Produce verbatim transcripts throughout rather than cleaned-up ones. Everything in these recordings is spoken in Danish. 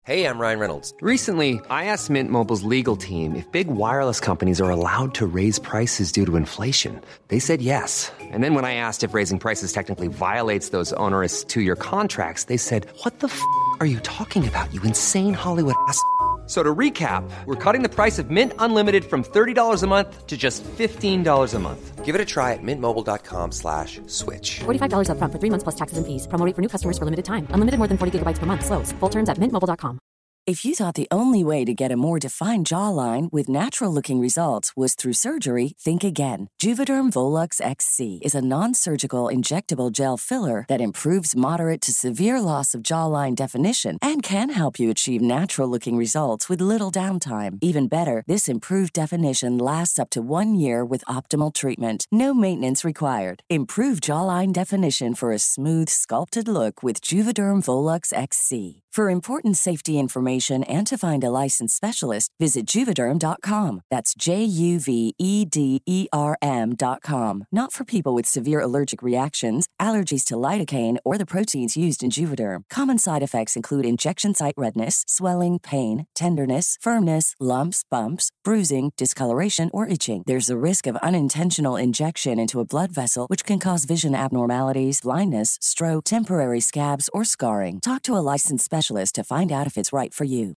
Hey, I'm Ryan Reynolds. Recently, I asked Mint Mobile's legal team if big wireless companies are allowed to raise prices due to inflation. They said yes. And then when I asked if raising prices technically violates those onerous two-year contracts, they said, what the f*** are you talking about, you insane Hollywood ass f- So to recap, we're cutting the price of Mint Unlimited from thirty dollars a month to just fifteen dollars a month. Give it a try at mintmobile.com slash switch. forty-five dollars up front for three months plus taxes and fees. Promo rate for new customers for limited time. Unlimited more than forty gigabytes per month. Slows full terms at mint mobile dot com. If you thought the only way to get a more defined jawline with natural-looking results was through surgery, think again. Juvederm Volux X C is a non-surgical injectable gel filler that improves moderate to severe loss of jawline definition and can help you achieve natural-looking results with little downtime. Even better, this improved definition lasts up to one year with optimal treatment. No maintenance required. Improve jawline definition for a smooth, sculpted look with Juvederm Volux X C. For important safety information and to find a licensed specialist, visit Juvederm dot com. That's J U V E D E R M dot com. Not for people with severe allergic reactions, allergies to lidocaine, or the proteins used in Juvederm. Common side effects include injection site redness, swelling, pain, tenderness, firmness, lumps, bumps, bruising, discoloration, or itching. There's a risk of unintentional injection into a blood vessel, which can cause vision abnormalities, blindness, stroke, temporary scabs, or scarring. Talk to a licensed specialist to find out if it's right for you.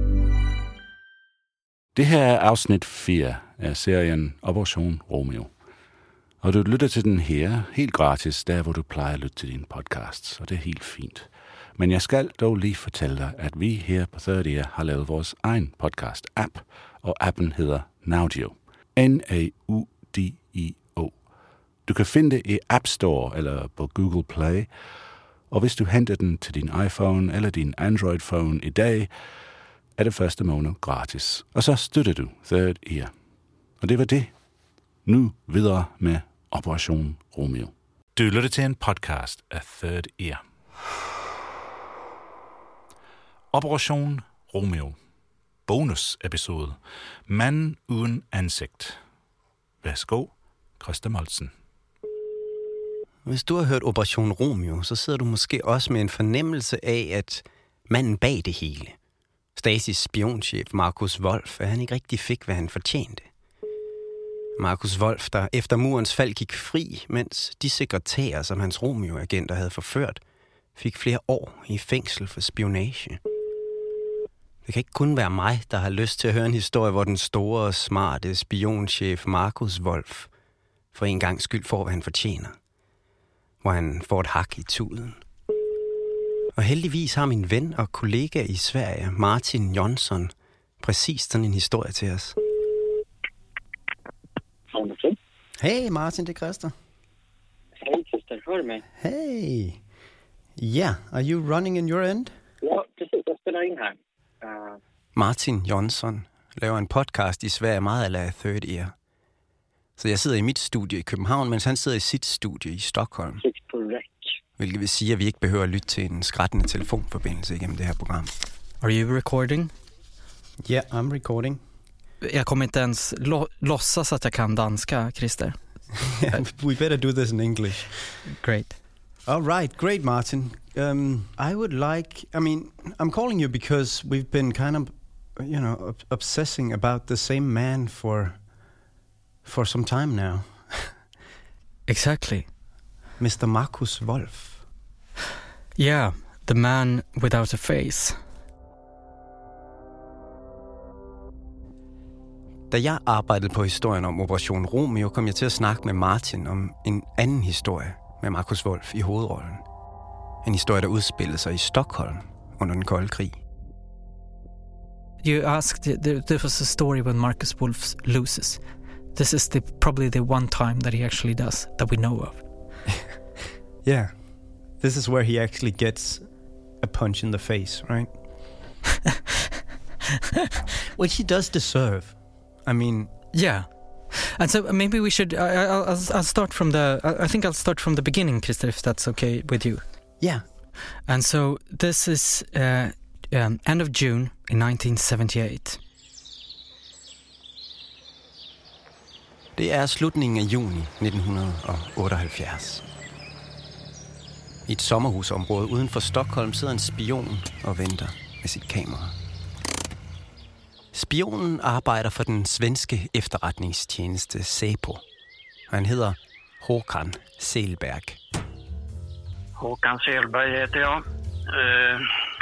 Det her er afsnit fire af serien Operation Romeo. Og du lytter til den her helt gratis, der hvor du plejer at lytte til dine podcasts, og det er helt fint. Men jeg skal dog lige fortælle dig, at vi her på Third Ear har lavet vores egen podcast-app, og appen hedder Naudio. N A U D I O. Du kan finde det i App Store eller på Google Play, og hvis du henter den til din iPhone eller din Android-phone i dag, er det første måned gratis. Og så støtter du Third Ear. Og det var det. Nu videre med Operation Romeo. Du lytter til en podcast af Third Ear. Operation Romeo. Bonus-episode. Manden uden ansigt. Værsgo, Christa Moltzen. Hvis du har hørt Operation Romeo, så sidder du måske også med en fornemmelse af, at manden bag det hele, Stasis spionchef Markus Wolf, at han ikke rigtig fik, hvad han fortjente. Markus Wolf, der efter murens fald gik fri, mens de sekretærer, som hans Romeo-agenter havde forført, fik flere år i fængsel for spionage. Det kan ikke kun være mig, der har lyst til at høre en historie, hvor den store og smarte spionchef Markus Wolf for en gang skyld får, hvad han fortjener. Hvor han får et hak i tuden. Og heldigvis har min ven og kollega i Sverige, Martin Jonsson, præcis sådan en historie til os. Hey Martin, det er Christa. Hej Christa, hør med. Hey. Yeah, are you running in your end? Ja, precis. Jag spelar in här. Uh... Martin Jonsson laver en podcast i Sverige meget ala Third Ear. Så jeg sidder i mit studie i København, mens han sidder i sit studie i Stockholm. Hvilket vil sige, at vi ikke behøver at lytte til en skrættende telefonforbindelse igennem det her program. Are you recording? Yeah, I'm recording. Jag kommer inte ens lo- låtsas att jag kan danska, Christer. Yeah, we better do this in English. Great. All right, great, Martin. Um, I would like, I mean, I'm calling you because we've been kind of, you know, ob- obsessing about the same man for, for some time now. Exactly. Mister Markus Wolf. Yeah, the man without a face. Da jeg arbejdede på historien om Operation Romeo, kom jeg til at snakke med Martin om en anden historie med Markus Wolf i hovedrollen. En historie, der udspillede sig i Stockholm under den kolde krig. You asked, there was a story when Markus Wolf loses. This is the probably the one time that he actually does, that we know of. Yeah, this is where he actually gets a punch in the face, right? Which he does deserve. I mean, yeah. And so maybe we should. I, I'll, I'll, I'll start from the. I think I'll start from the beginning, Christer, if that's okay with you. Yeah. And so this is uh, um, end of June in nineteen seventy-eight. Det er slutningen af juni nitten otteoghalvfjerds. I et sommerhusområde uden for Stockholm sidder en spion og venter med af sit kamera. Spionen arbejder for den svenske efterretningstjeneste Säpo. Han hedder Håkan Selberg. Håkan Selberg heter jag. Eh,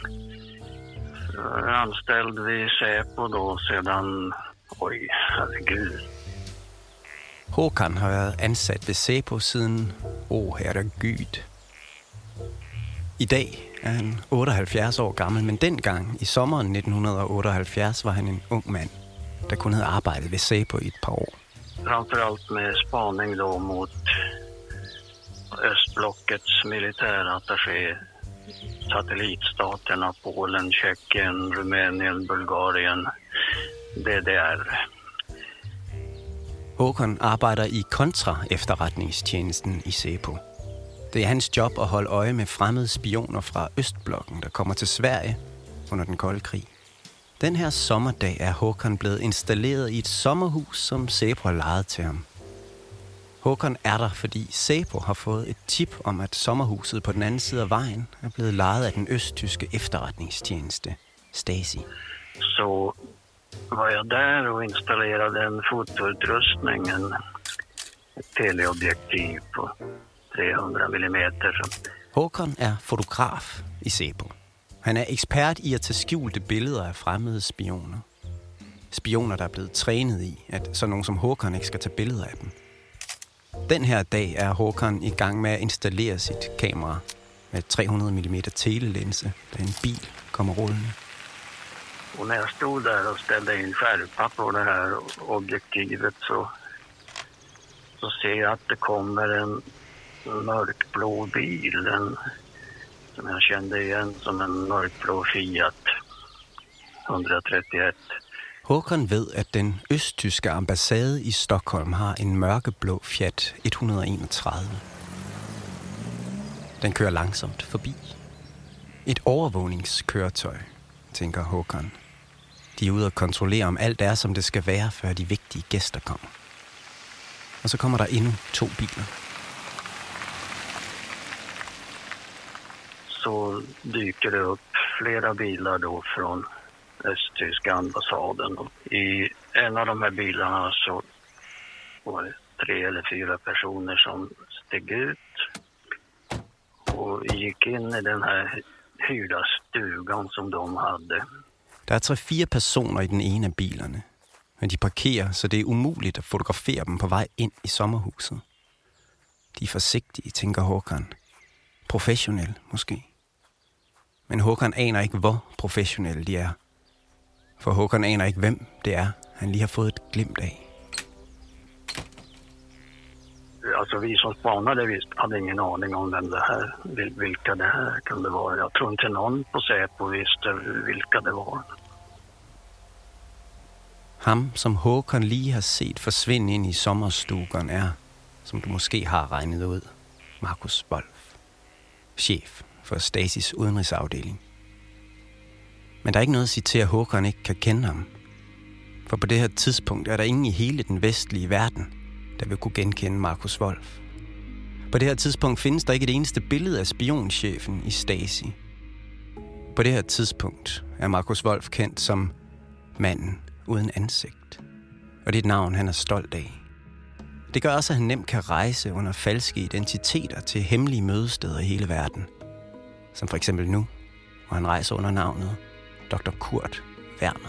anställd vid Säpo då sedan... Oj, herregud. Håkan har været ansat ved Säpo siden... Åh, oh, herregud. I dag er han otteoghalvfjerds år gammel, men dengang i sommeren nitten otteoghalvfjerds var han en ung mand, der kun havde arbejdet ved Säpo i et par år. Framförallt med spaning då mot östblockets militärattaché, satellitstaterna Polen, Tjeckien, Rumänien, Bulgarien, D D R. Håkan arbejder i kontra-efterretningstjenesten i Säpo. Det er hans job at holde øje med fremmede spioner fra Østblokken, der kommer til Sverige under den kolde krig. Den her sommerdag er Håkan blevet installeret i et sommerhus, som Säpo har lejet til ham. Håkan er der, fordi Säpo har fået et tip om, at sommerhuset på den anden side af vejen er blevet lejet af den østtyske efterretningstjeneste, Stasi. Så var jeg der og installerede en fotoutrustning, en teleobjektiv på tre hundrede millimeter. Håkan er fotograf i Säpo. Han er ekspert i at tage skjulte billeder af fremmede spioner. Spioner, der er blevet trænet i, at sådan nogen som Håkan ikke skal tage billeder af dem. Den her dag er Håkan i gang med at installere sit kamera med tre hundrede millimeter telelinse, da en bil kommer rullende. Och när jag stod där och ställde in skärpa på det här objektivet så, så ser jag att det kommer en mörkblå bil, en, som jag kände igen som en mörkblå Fiat et tre et. Håkan ved, at den østtyske ambassade i Stockholm har en mørkeblå Fiat et enogtredive. Den kører langsomt forbi. Et overvågningskøretøj, tænker Håkan. De er ude og kontrollere, om alt er, som det skal være, før de vigtige gæster kommer. Og så kommer der endnu to biler. Så dyker det upp flera bilar då från östtyska ambassaden. Och i en av de här bilarna så var det tre eller fyra personer som steg ut och gick in i den här hyrda stugan som de hade. Der er tre-fire personer i den ene af bilerne, men de parkerer, så det er umuligt at fotografere dem på vej ind i sommerhuset. De er forsigtige, tænker Håkan. Professionel, måske. Men Håkan aner ikke, hvor professionelle de er. For Håkan aner ikke, hvem det er, han lige har fået et glimt af. Alltså vi som spanade visst hade ingen aning om vem det här, vilka det här kunde vara. Jag tror inte någon på Säpo visste vilka det var. Ham, som Håkan lige har set forsvinde ind i sommerstugan, er, som du måske har regnet ud, Markus Wolf, chef for Stasis udenrigsafdeling. Men der er ikke noget at sige til, at Håkan ikke kan kende ham. For på det her tidspunkt er der ingen i hele den vestlige verden, der vil kunne genkende Markus Wolf. På det her tidspunkt findes der ikke et eneste billede af spionchefen i Stasi. På det her tidspunkt er Markus Wolf kendt som manden uden ansigt. Og det er et navn, han er stolt af. Det gør også, at han nemt kan rejse under falske identiteter til hemmelige mødesteder i hele verden. Som for eksempel nu, hvor han rejser under navnet doktor Kurt Werner.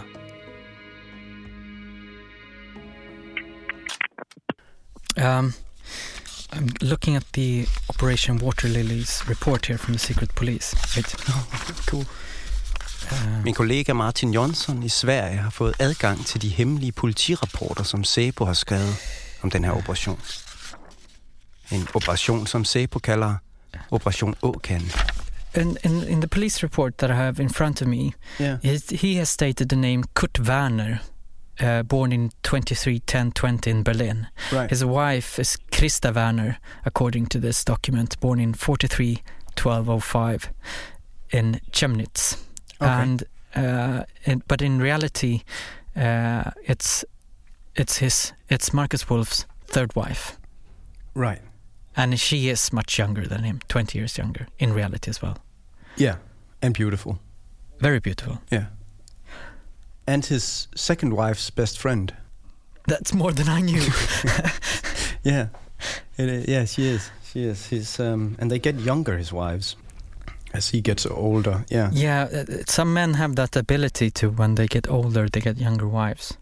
Um, I'm looking at the Operation Water Lilies report here from the Secret Police. Right? Cool. Uh, Min kollega Martin Jonsson i Sverige har fået adgang til de hemmelige politirapporter, som Säpo har skrevet om den her operation. En operation, som Säpo kalder Operation Åkan. In, in, in the police report that I have in front of me, yeah. he, he has stated the name Kurt Werner, uh, born in twenty-three ten twenty in Berlin. Right. His wife is Christa Werner, according to this document, born in forty-three twelve oh five in Chemnitz. Okay. And uh, in, but in reality, uh, it's it's his it's Markus Wolf's third wife. Right. And she is much younger than him, twenty years younger, in reality as well. Yeah, and beautiful. Very beautiful. Yeah. And his second wife's best friend. That's more than I knew. Yeah. It is, yeah, she is. She is. He's, um, and they get younger, his wives, as he gets older. Yeah. Yeah, uh, some men have that ability to, when they get older, they get younger wives.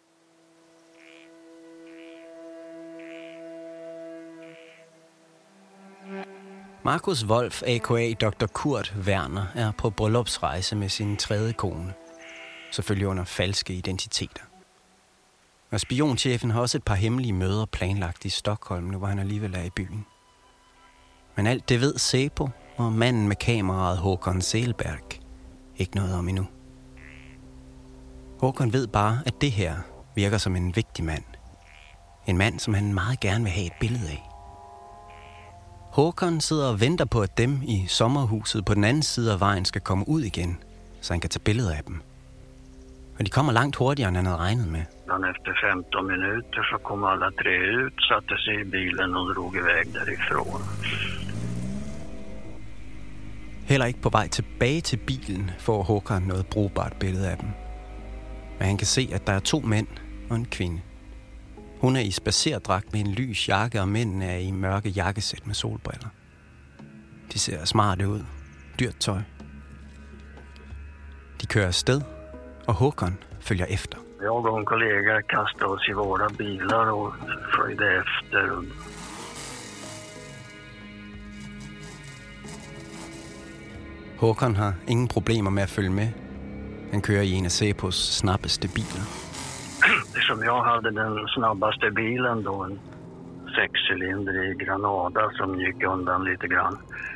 Markus Wolf, a k a. doktor Kurt Werner, er på bryllupsrejse med sin tredje kone. Selvfølgelig under falske identiteter. Og spionchefen har også et par hemmelige møder planlagt i Stockholm, nu hvor han alligevel er i byen. Men alt det ved Säpo og manden med kameraet Håkon Selberg ikke noget om endnu. Håkon ved bare, at det her virker som en vigtig mand. En mand, som han meget gerne vil have et billede af. Håkon sidder og venter på, at dem i sommerhuset på den anden side af vejen skal komme ud igen, så han kan tage billeder af dem. Og de kommer langt hurtigere, end han havde regnet med. Men efter femton minuter så kom alla tre ut, satte sig i bilen og drog iväg därifrån. Heller ikke på vej tilbage til bilen får Håkon noget brugbart billede af dem. Men han kan se, at der er to mænd og en kvinde. Hun er i spacerdragt med en lys jakke, og mændene er i mørke jakkesæt med solbriller. De ser smarte ud. Dyrt tøj. De kører afsted, og Håkon følger efter. Jag och en kollega kastade oss i våra bilar och följde efter. Håkon har ingen problemer med at følge med. Han kører i en af Säpos snabbeste biler. Som jag hade den snabbaste bilen då, en sexcylindrig Granada som gick undan lite grann.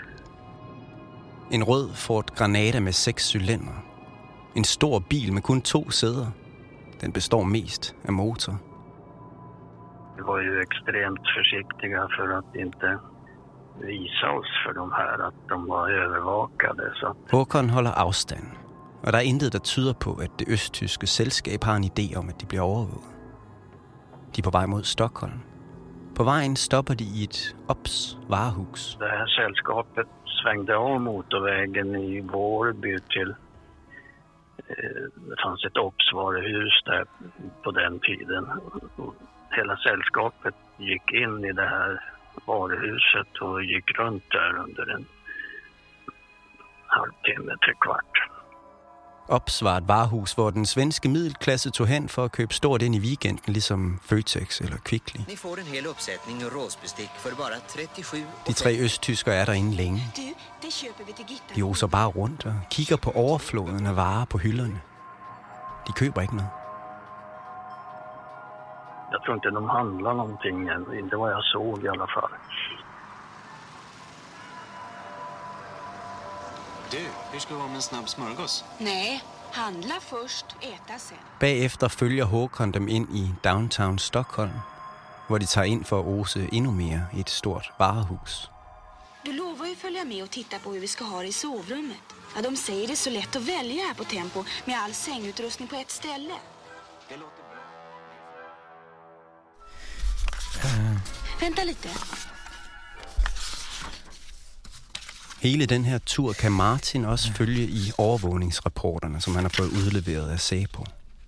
En rød Ford Granada med seks cylinder. En stor bil med kun to sæder. Den består mest af motor. Vi var ju extremt försiktiga för att inte visa oss för de här att de var övervakade. Så. Håkon holder afstand, og der er intet, der tyder på, at det østtyske selskab har en idé om, at de bliver overvåget. De er på vej mod Stockholm. På vejen stopper de i et Ops varehus. Det här sällskapet svängde av motorvägen i Vårby till det fanns ett Ops-varuhus där på den tiden. Hela sällskapet gick in i det här varuhuset och gick runt där under en halvtimme, tre kvart. Ops var et varehus, hvor den svenske middelklasse tog hen for at købe stort ind i weekenden, ligesom Føtex eller Kvickly. Ni får en hel uppsättning råsbestick för bara trettiosju. De tre østtyskere er derinde længe. De oser bare rundt og kigger på overfloden af varer på hylderne. De køber ikke noget. Jag tror inte de handlar någonting än. Inte vad jag såg i alla fall. Du, hur ska vi vara med en snabb smörgås? Nej, handla först, äta sen. Bagefter følger Håkon dem ind i downtown Stockholm, hvor de tager ind for at ose endnu mere i et stort varehus. Du lovar ju följa med och titta på hur vi ska ha det i sovrummet. Ja, de säger det är så lätt att välja här på Tempo med all sängutrustning på ett ställe. Det låter bra. Uh. Vänta lite. Hele den her tur kan Martin også ja. følge i overvågningsrapporterne, som han har fået udleveret af Säpo.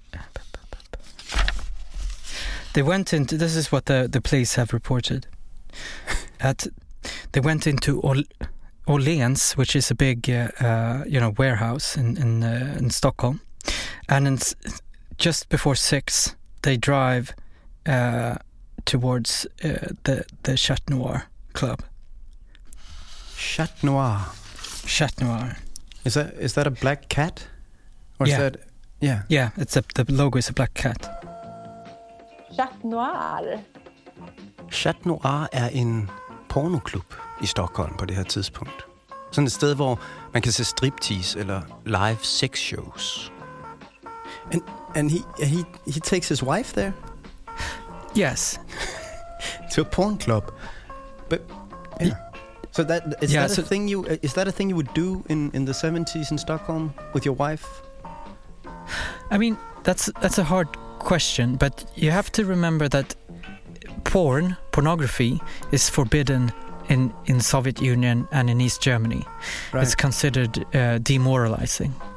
They went into, this is what the, the police have reported. At, they went into Ol, Åhléns, which is a big, uh, uh, you know, warehouse in in, uh, in Stockholm. And in, just before six, they drive uh, towards uh, the, the Chat Noir club. Chat Noir. Chat Noir. Is that is that a black cat? Or yeah. Is that, yeah. Yeah, it's a, the logo is a black cat. Chat Noir. Chat Noir er en pornoklub i Stockholm på det her tidspunkt. Sådan et sted, hvor man kan se striptease eller live sex shows. And and he he he takes his wife there? Yes. To a porn club. But yeah. He, So that is yeah, that a so thing you is that a thing you would do in, in the seventies in Stockholm with your wife? I mean, that's that's a hard question, but you have to remember that porn, pornography, is forbidden in, in Soviet Union and in East Germany. Right. It's considered uh, demoralizing.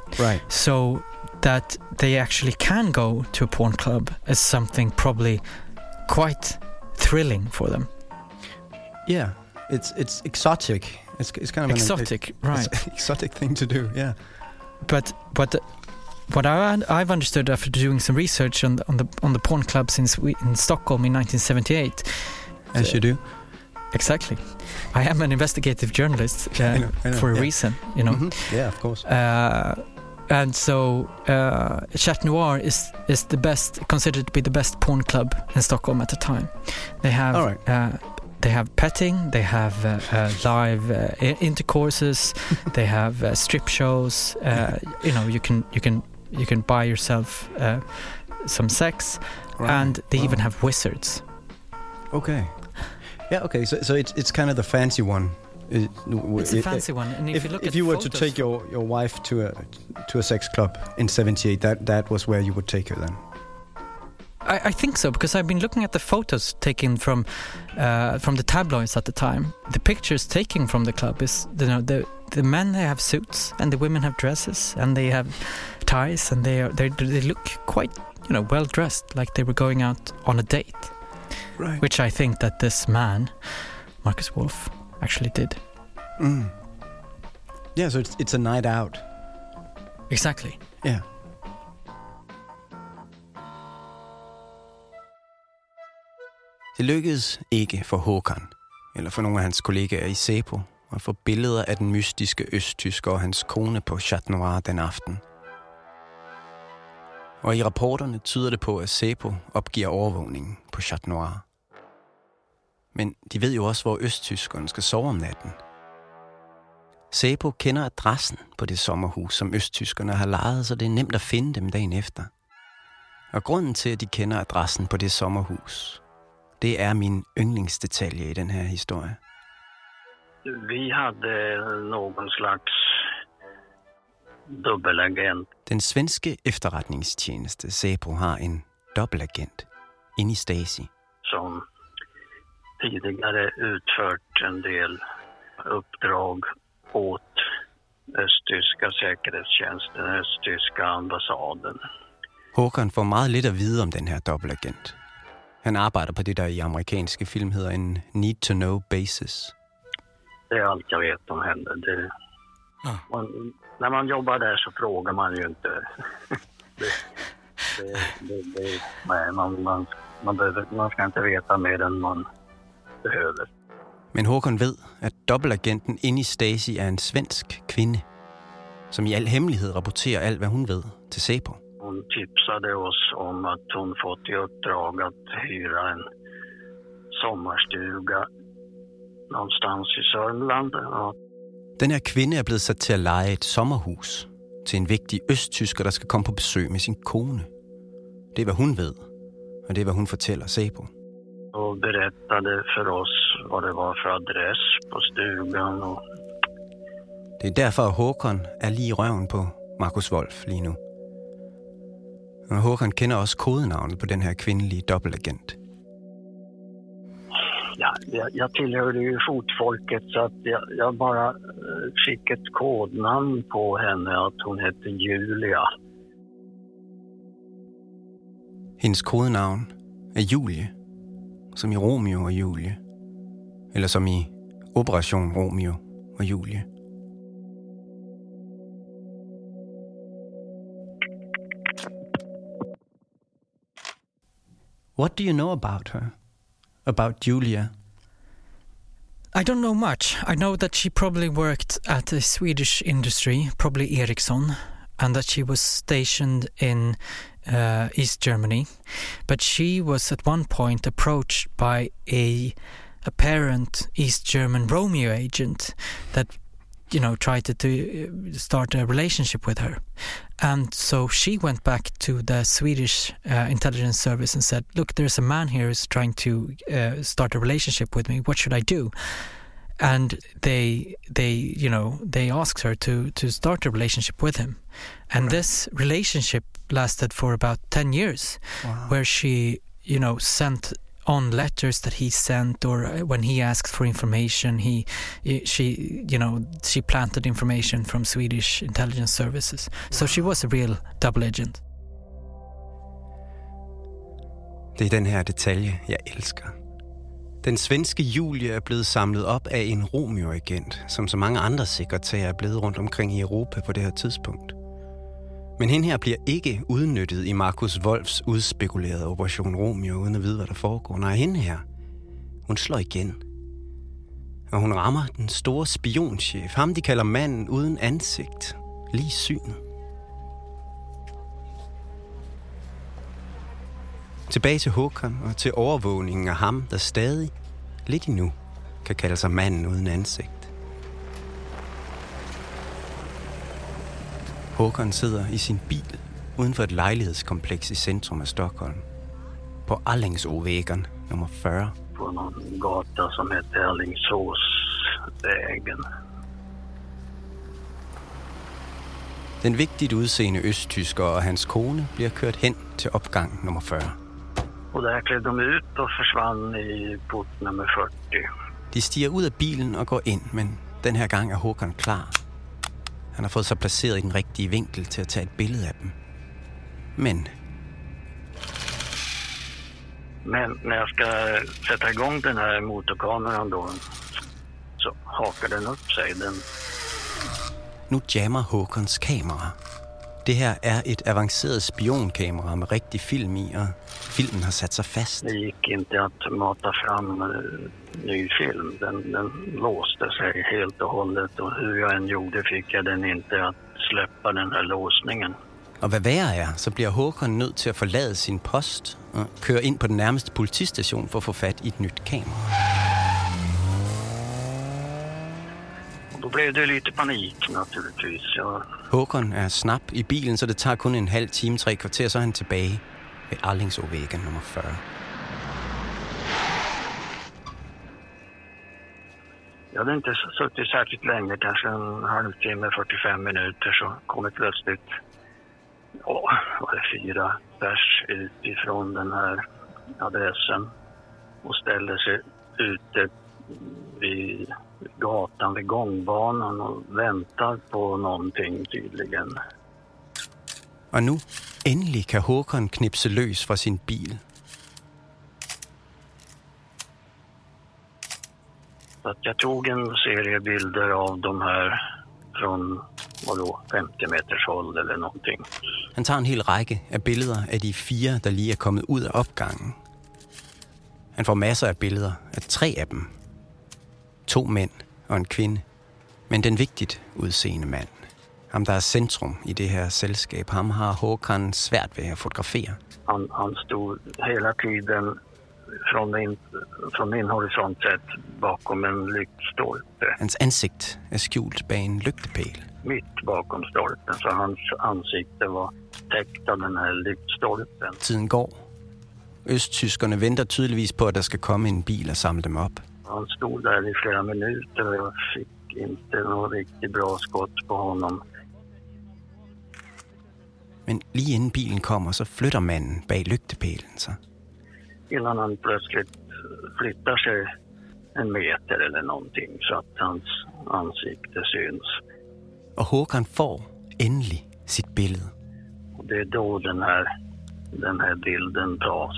Right. So that they actually can go to a porn club is something probably quite thrilling for them. Yeah, it's it's exotic. It's it's kind of exotic, an, right? It's exotic thing to do. Yeah. But but what I I've understood after doing some research on the, on the on the porn clubs in in Stockholm in nineteen seventy-eight. As you do. Exactly. I am an investigative journalist uh, I know, I know, for a yeah. reason, you know. Mm-hmm. Yeah, of course. Uh, and so uh, Chat Noir is is the best, considered to be the best porn club in Stockholm at the time. They have All right. uh, they have petting, they have uh, uh, live uh, intercourses, they have uh, strip shows. Uh, you know, you can you can you can buy yourself uh, some sex, Right. and they Wow. even have wizards. Okay. Yeah. Okay. So so it's it's kind of the fancy one. It, It's a fancy one, and if, If you look if at you were to photos take from- your, your wife to a to a sex club in seventy-eight, that that was where you would take her then. I, I think so, because I've been looking at the photos taken from uh, from the tabloids at the time. The pictures taken from the club is, you know, the the men, they have suits and the women have dresses and they have ties, and they are they they look quite, you know, well dressed, like they were going out on a date. Right. Which I think that this man, Marcus Wolf, actually did. Mm. Yeah. So it's it's a night out. Exactly. Yeah. Det lykkedes ikke for Håkan, eller for nogle af hans kollegaer i Säpo, at få billeder af den mystiske østtysker og hans kone på Chat Noir den aften. Og i rapporterne tyder det på, at Säpo opgiver overvågningen på Chat Noir. Men de ved jo også, hvor østtyskerne skal sove om natten. Säpo kender adressen på det sommerhus, som østtyskerne har lejet, så det er nemt at finde dem dagen efter. Og grunden til, at de kender adressen på det sommerhus, det er min yndlingsdetalje i den her historie. Vi hade någon slags dubbelagent. Den svenske efterretningstjeneste Säpo har en dobbeltagent inde i Stasi. Som tidigare utfört en del uppdrag åt östtyska säkerhetstjänsten, östtyska ambassaden. Håkan får meget lidt at vide om den her dobbeltagent. Han arbejder på det, der i amerikanske film hedder en need-to-know basis. Det är allt jag vet om henne. Det, ah. man, när man jobbar där så frågar man ju inte. det, det, det, det, nej, man, man, man, behöver, man ska inte veta mer än man behöver. Men Håkan ved, at dobbeltagenten inde i Stasi er en svensk kvinde, som i al hemmelighed rapporterer alt, hvad hun ved til Säpo. Hon tipsade oss om att hon fått i uppdrag att hyra en sommarstuga någonstans i Sörmland. Och den her kvinde er blevet sat til at leje et sommerhus til en vigtig østtysker, der skal komme på besøg med sin kone. Det er, hvad hun ved, og det er, hvad hun fortæller Säpo. Och berättade för oss vad det var för adress på stugan. Och det er derfor, at Håkan er lige i røven på Marcus Wolf lige nu. Og Håkan kender også kodenavnet på den her kvindelige dobbeltagent. Ja, jag, jag tillhörde ju fotfolket, så att jag, jag bara eh, fick ett kodnamn på henne, att hon hette Julia. Hendes kodenavn er Julie, som i Romeo og Julie. Eller som i Operation Romeo og Julie. What do you know about her? About Julia? I don't know much. I know that she probably worked at a Swedish industry, probably Ericsson, and that she was stationed in uh, East Germany. But she was at one point approached by a apparent East German Romeo agent that, you know, tried to, to start a relationship with her. And so she went back to the Swedish uh, intelligence service and said, look, there's a man here who's trying to uh, start a relationship with me. What should I do? And they, they, you know, they asked her to, to start a relationship with him. And right. This relationship lasted for about ten years, wow. where she, you know, sent on letters that he sent, or when he asked for information, he, she, you know, she planted information from Swedish intelligence services. So she was a real double agent. Det er den her detalje, jeg elsker. Den svenske Julie er blevet samlet op af en Romeo-agent, som så mange andre sekretærer er blevet rundt omkring i Europa på det her tidspunkt. Men hende her bliver ikke udnyttet i Markus Wolfs udspekulerede Operation Romeo, uden at vide, hvad der foregår. Nej, hende her, hun slår igen. Og hun rammer den store spionchef, ham de kalder manden uden ansigt, lige synet. Tilbage til Håkan og til overvågningen af ham, der stadig, lidt endnu, kan kalde sig manden uden ansigt. Håkan sidder i sin bil uden for et lejlighedskompleks i centrum af Stockholm. På Alingsåsvägen nummer fyrre. På någon gata som heter Alingsåsvägen. Den vigtigt udseende østtysker og hans kone bliver kørt hen til opgang nummer fyrre. Och där klev de ut och försvann i port nummer fyrtio. De stiger ud af bilen og går ind, men den her gang er Håkan klar. Han har fået sig placeret i den rigtige vinkel til at tage et billede af dem. Men... Men när jag ska sätta igång den här motorkameran då, så hakar den upp sig. Den... Nu jammer Håkans kamera. Det her er et avanceret spionkamera med rigtig film i, og filmen har sat sig fast. Det gick inte att mata fram uh, ny film. Den, den låste sig helt och hållet, och hur jag än gjorde fick jag den inte att släppa den här låsningen. Og hvad værre er, så bliver Håkan nødt til at forlade sin post og køre ind på den nærmeste politistation for at få fat i et nyt kamera. Då blev det lite panik naturligtvis. Jag... Håkan er snap i bilen, så det tager kun en halv time, tre kvarter, så er han tilbage ved Alingsåsvägen nummer fyrre. Jag hade inte suttit särskilt länge, kanske en halvtimme, fyrtiofem minuter, så kom det plötsligt, ja, var det fyra pers ut ifrån den här adressen och ställde sig ute vid gatan, vid gångbanan och väntar på någonting tydligen. Og nu endelig kan Håkan knipse løs fra sin bil. Så att jag tog en serie bilder av de här från vadå, femtio meters håll eller någonting. Han tager en hel række af billeder af de fire, der lige er kommet ud af opgangen. Han får masser af billeder af tre af dem. To mænd og en kvinde. Men den vigtigt udseende mand, ham der er centrum i det her selskab, ham har Håkan svært ved at fotografere. Han, han stod hela tiden från min, från min horisont sett bakom en lygtstolpe. Hans ansigt er skjult bag en lygtepæl. Mitt bakom stolpen, så hans ansikte var täckt av den här lygtstolpen. Tiden går. Østtyskerne venter tydeligvis på, at der skal komme en bil og samle dem op. Han stod där i flera minuter och jag fick inte något riktigt bra skott på honom. Men lige inden bilen kommer, så flytter manden bag lygtepælen sig. Innan han plötsligt flyttar sig en meter eller någonting så att hans ansikte syns. Og Håkan får endelig sit billede. Och det är då den här, den här bilden tas.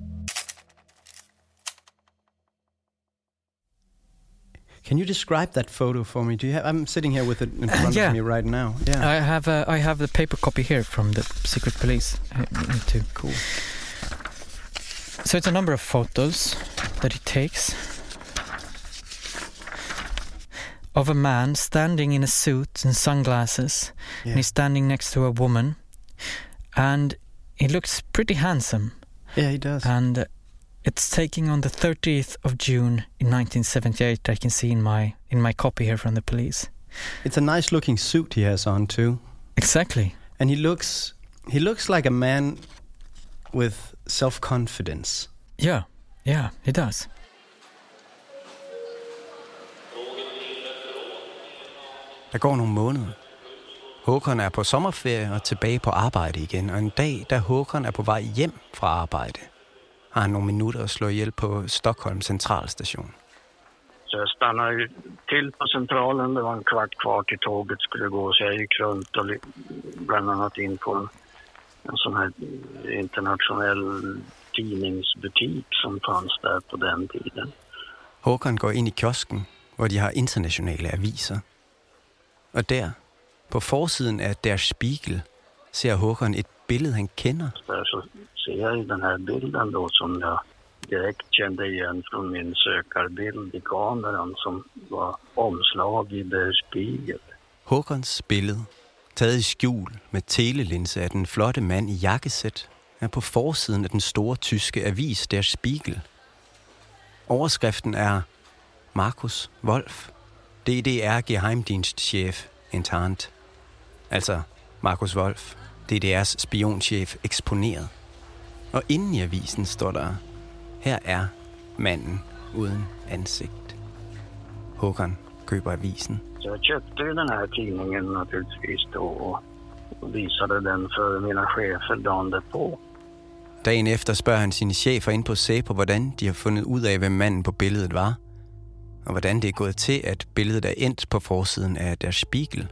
Can you describe that photo for me? Do you have? I'm sitting here with it in front uh, yeah. of me right now. Yeah, I have. Uh, I have the paper copy here from the secret police. Uh, too cool. So it's a number of photos that he takes of a man standing in a suit and sunglasses, yeah. and he's standing next to a woman, and he looks pretty handsome. Yeah, he does. And uh, it's taking on the thirtieth of June in nineteen seventy-eight. I can see in my in my copy here from the police. It's a nice looking suit he has on too. Exactly. And he looks he looks like a man with self-confidence. Yeah, yeah, he does. Der går nogle måneder. Håkan er på sommerferie og tilbage på arbejde igen, og en dag, da Håkan er på vej hjem fra arbejde, har han nogle minutter at slå ihjel på Stockholm centralstation. Så jag stannade ju till på centralen, det var en kvart kvar till tåget skulle gå, så jag gick runt och bland annat in på en, en sån här internationell tidningsbutik som fanns där på den tiden. Håkan går ind i kiosken, hvor de har internationale aviser. Og der, på forsiden af Der Spiegel, ser Håkan et billede, han kender. Där så ser jag den här bilden då som jag direkt kände igen från min sökarbild i kameran som var omslag i Der Spiegel. Håkans billede, taget i skjul med telelinse af den flotte mand i jakkesæt, er på forsiden af den store tyske avis Der Spiegel. Overskriften er Markus Wolf, D D R-Geheimdienstchef internt. Altså Markus Wolf, D D R's spionchef eksponeret. Og inden i avisen står der, her er manden uden ansigt. Håkan køber avisen. Så jag köpte ju den här tidningen naturligtvis då och visade den för mina chefer dagen därpå. Dagen efter spørger han sine chefer ind på Säpo, hvordan de har fundet ud af, hvem manden på billedet var. Og hvordan det er gået til, at billedet er endt på forsiden af Der Spiegel.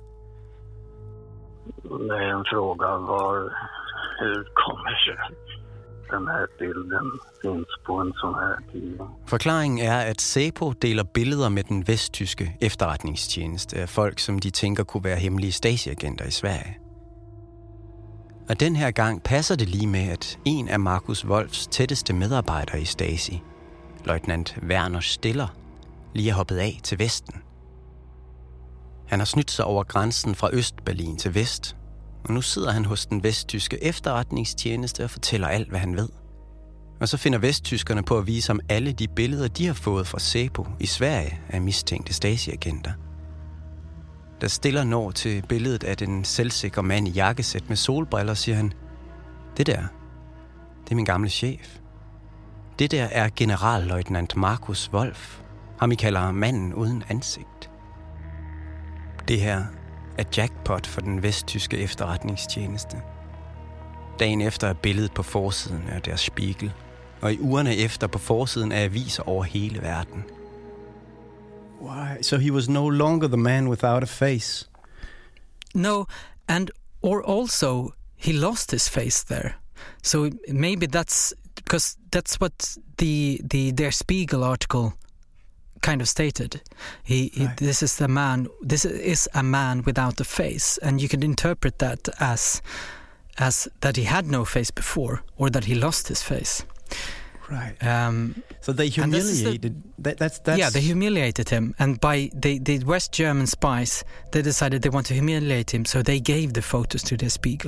Det är en fråga var, hur kommer sig den här bilden finns på en sån här tidning. Forklaringen er, at Säpo deler billeder med den vesttyske efterretningstjeneste af folk, som de tænker kunne være hemmelige Stasi-agenter i Sverige. Og den her gang passer det lige med, at en af Markus Wolfs tætteste medarbejdere i Stasi, løjtnant Werner Stiller, lige er hoppet af til Vesten. Han har snydt sig over grænsen fra Østberlin til Vest, og nu sidder han hos den vesttyske efterretningstjeneste og fortæller alt, hvad han ved. Og så finder vesttyskerne på at vise ham alle de billeder, de har fået fra Säpo i Sverige af mistænkte Stasi-agenter. Der Stiller når til billedet af den selvsikre mand i jakkesæt med solbriller, siger han, det der, det er min gamle chef. Det der er generalløjtnant Markus Wolf. Ham I kalder manden uden ansigt. Det her er jackpot for den vesttyske efterretningstjeneste. Dagen efter er billedet på forsiden af Der Spiegel, og i ugerne efter på forsiden af aviser over hele verden. Why? So he was no longer the man without a face? No, and or also he lost his face there. So maybe that's because that's what the the Der Spiegel article kind of stated. He, he right. This is the man. This is a man without a face, and you can interpret that as as that he had no face before, or that he lost his face. Right. Um, so they humiliated. The, that, that's that's. Yeah, they humiliated him, and by the the West German spies, they decided they want to humiliate him, so they gave the photos to Der Spiegel.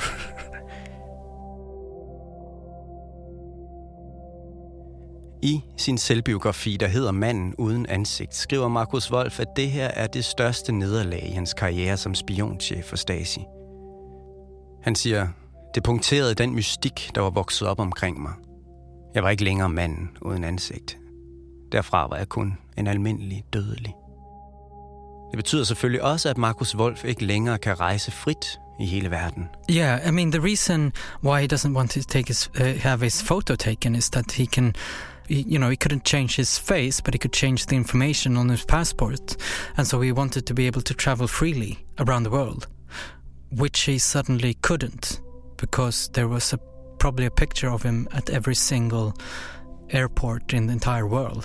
I sin selvbiografi, der hedder Manden uden ansigt, skriver Markus Wolf, at det her er det største nederlag i hans karriere som spionchef for Stasi. Han siger, det punkterede den mystik, der var vokset op omkring mig. Jeg var ikke længere manden uden ansigt. Derfra var jeg kun en almindelig dødelig. Det betyder selvfølgelig også, at Markus Wolf ikke længere kan rejse frit i hele verden. Yeah, I mean the reason why he doesn't want to take his uh, have his photo taken is that he can, you know, he couldn't change his face, but he could change the information on his passport, and so he wanted to be able to travel freely around the world, which he suddenly couldn't because there was a probably a picture of him at every single airport in the entire world.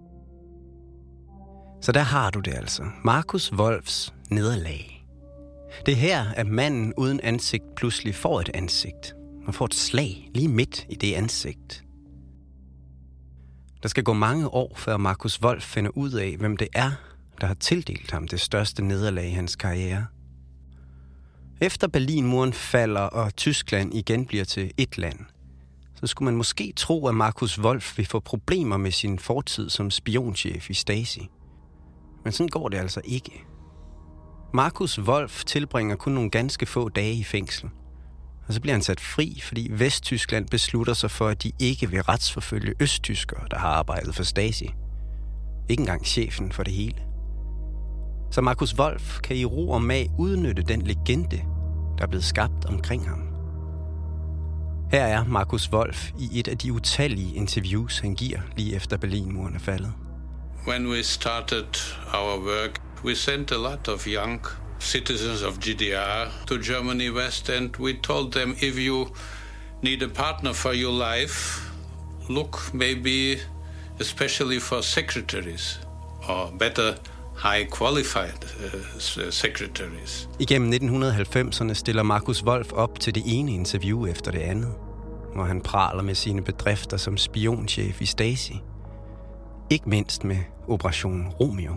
Så der har du det altså. Markus Wolfs nederlag. Det er her, at manden uden ansigt pludselig får et ansigt. Og får et slag lige midt i det ansigt. Der skal gå mange år, før Markus Wolf finder ud af, hvem det er, der har tildelt ham det største nederlag i hans karriere. Efter Berlinmuren falder, og Tyskland igen bliver til et land, så skulle man måske tro, at Markus Wolf vil få problemer med sin fortid som spionchef i Stasi. Men sådan går det altså ikke. Markus Wolf tilbringer kun nogle ganske få dage i fængsel. Og så bliver han sat fri, fordi Vesttyskland beslutter sig for, at de ikke vil retsforfølge østtyskere, der har arbejdet for Stasi. Ikke engang chefen for det hele. Så Markus Wolf kan i ro og mag udnytte den legende, der er blevet skabt omkring ham. Her er Markus Wolf i et af de utallige interviews, han giver lige efter Berlinmuren er faldet. When we started our work, we sent a lot of young citizens of G D R to Germany West, and we told them, if you need a partner for your life, look maybe especially for secretaries, or better, high qualified uh, secretaries. Igennem nitten halvfemserne stiller Markus Wolf op til det ene interview efter det andet, hvor han praler med sine bedrifter som spionchef i Stasi. Ikke mindst med Operation Romeo.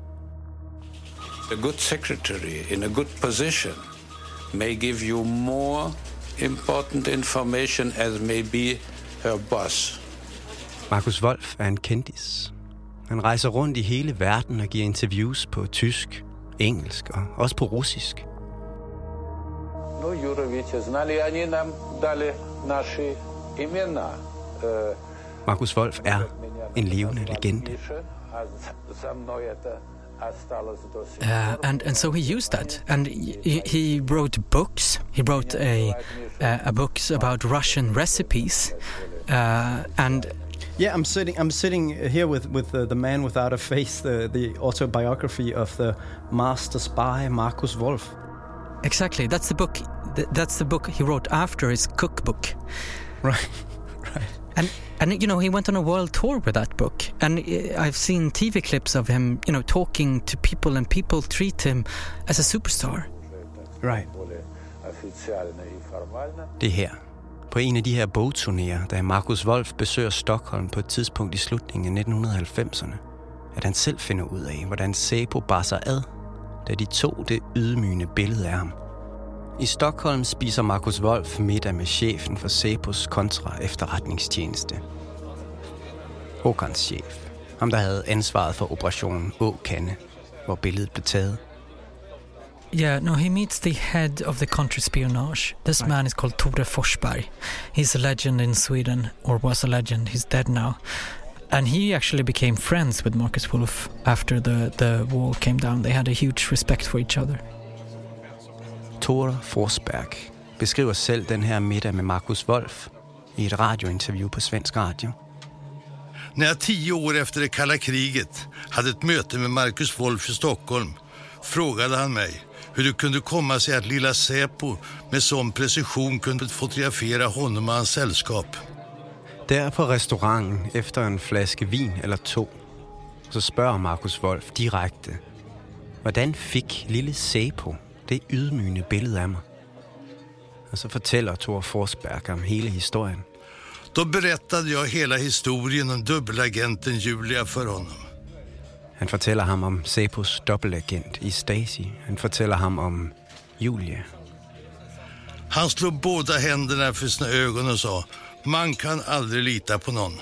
A good secretary in a good position may give you more important information as maybe her boss. Markus Wolf er en kendis. Han rejser rundt i hele verden og giver interviews på tysk, engelsk og også på russisk. Ну, Юровича знали, они нам дали наши имена. Markus Wolf er en levende legende. Uh, and and so he used that, and he, he wrote books. He wrote a uh, a books about Russian recipes, uh, and yeah, I'm sitting. I'm sitting here with with the, the man without a face, the the autobiography of the master spy Markus Wolf. Exactly, that's the book. That's the book he wrote after his cookbook. Right, right. And and you know, he went on a world tour with that book, and I've seen T V clips of him, you know, talking to people, and people treat him as a superstar. Right. Det her, på en af de her bogturnéer, da Markus Wolf besøger Stockholm på et tidspunkt i slutningen af nitten halvfemserne, at han selv finder ud af, hvordan Säpo bar sig ad, da de tog det ydmygende billede af ham. I Stockholm spiser Markus Wolf middag med chefen for Säpos kontra-efterretningstjeneste. Håkans chef. Ham, der havde ansvaret for operationen Åkande, hvor billedet blev taget. Yeah, no, he meets the head of the contra-spionage. This man is called Tore Forsberg. He's a legend in Sweden, or was a legend. He's dead now. And he actually became friends with Markus Wolf after the, the wall came down. They had a huge respect for each other. Tore Forsberg beskriver selv den her middag med Markus Wolf i et radiointerview på svensk radio. När jag tio år efter det kalla kriget hade ett möte med Markus Wolf i Stockholm frågade han mig hur det kunde komma sig att lilla Säpo med sån precision kunde fotografera honom och hans sällskap. Der på restauranten efter en flaske vin eller to, så spørger Markus Wolf direkte, hvordan fik lille Säpo det ydmygende billede af mig? Og så fortæller Tore Forsberg om hele historien. Då berättade jag hela historien om dubbelagenten Julia för honom. Han fortæller ham om Säpos dobbeltagent i Stasi. Han fortæller ham om Julia. Han slog båda händerna för sina ögon och sa, man kan aldrig lita på någon.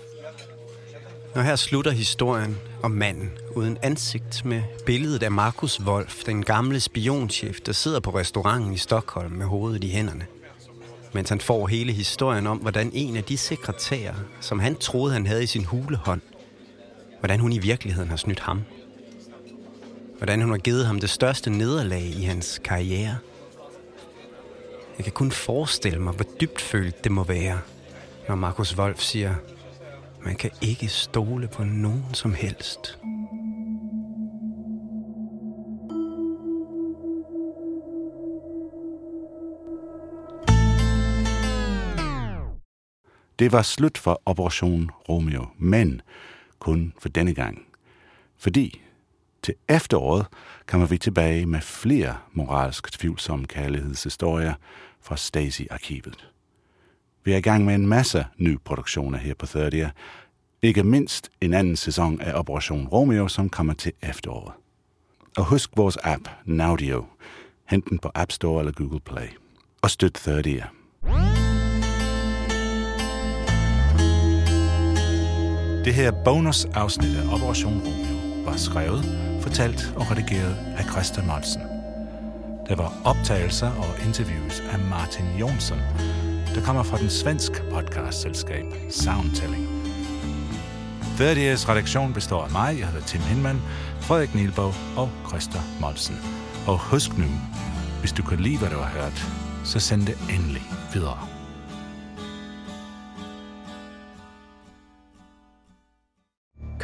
Og her slutter historien om manden uden ansigt med billedet af Markus Wolf, den gamle spionchef, der sidder på restauranten i Stockholm med hovedet i hænderne. Mens han får hele historien om, hvordan en af de sekretærer, som han troede, han havde i sin hulehånd, hvordan hun i virkeligheden har snydt ham. Hvordan hun har givet ham det største nederlag i hans karriere. Jeg kan kun forestille mig, hvor dybtfølt det må være, når Markus Wolf siger, man kan ikke stole på nogen som helst. Det var slut for Operation Romeo, men kun for denne gang. Fordi til efteråret kommer vi tilbage med flere moralsk tvivlsomme kærlighedshistorier fra Stasi-arkivet. Vi er i gang med en masse nye produktioner her på tredier. Ikke mindst en anden sæson af Operation Romeo, som kommer til efteråret. Og husk vores app, Naudio. Hent den på App Store eller Google Play. Og støt tredier. Det her bonusafsnit af Operation Romeo var skrevet, fortalt og redigeret af Christa Molsen. Der var optagelser og interviews af Martin Jonsson, der kommer fra den svenske podcastselskab Soundtelling. trediers redaktion består af mig, jeg hedder Tim Hinman, Frederik Nielbov og Christa Molsen. Og husk nu, hvis du kan lide, hvad du har hørt, så send det endelig videre.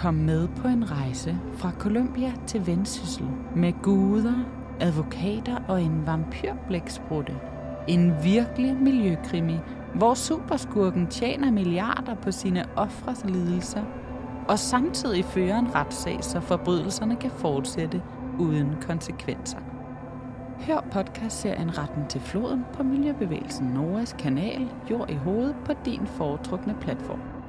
Kom med på en rejse fra Colombia til Vendsyssel med guder, advokater og en vampyrblæksprutte. En virkelig miljøkrimi, hvor superskurken tjener milliarder på sine ofres lidelser, og samtidig fører en retssag, så forbrydelserne kan fortsætte uden konsekvenser. Hør podcastserien Retten til floden på Miljøbevægelsen Noras kanal Jord i hovedet på din foretrukne platform.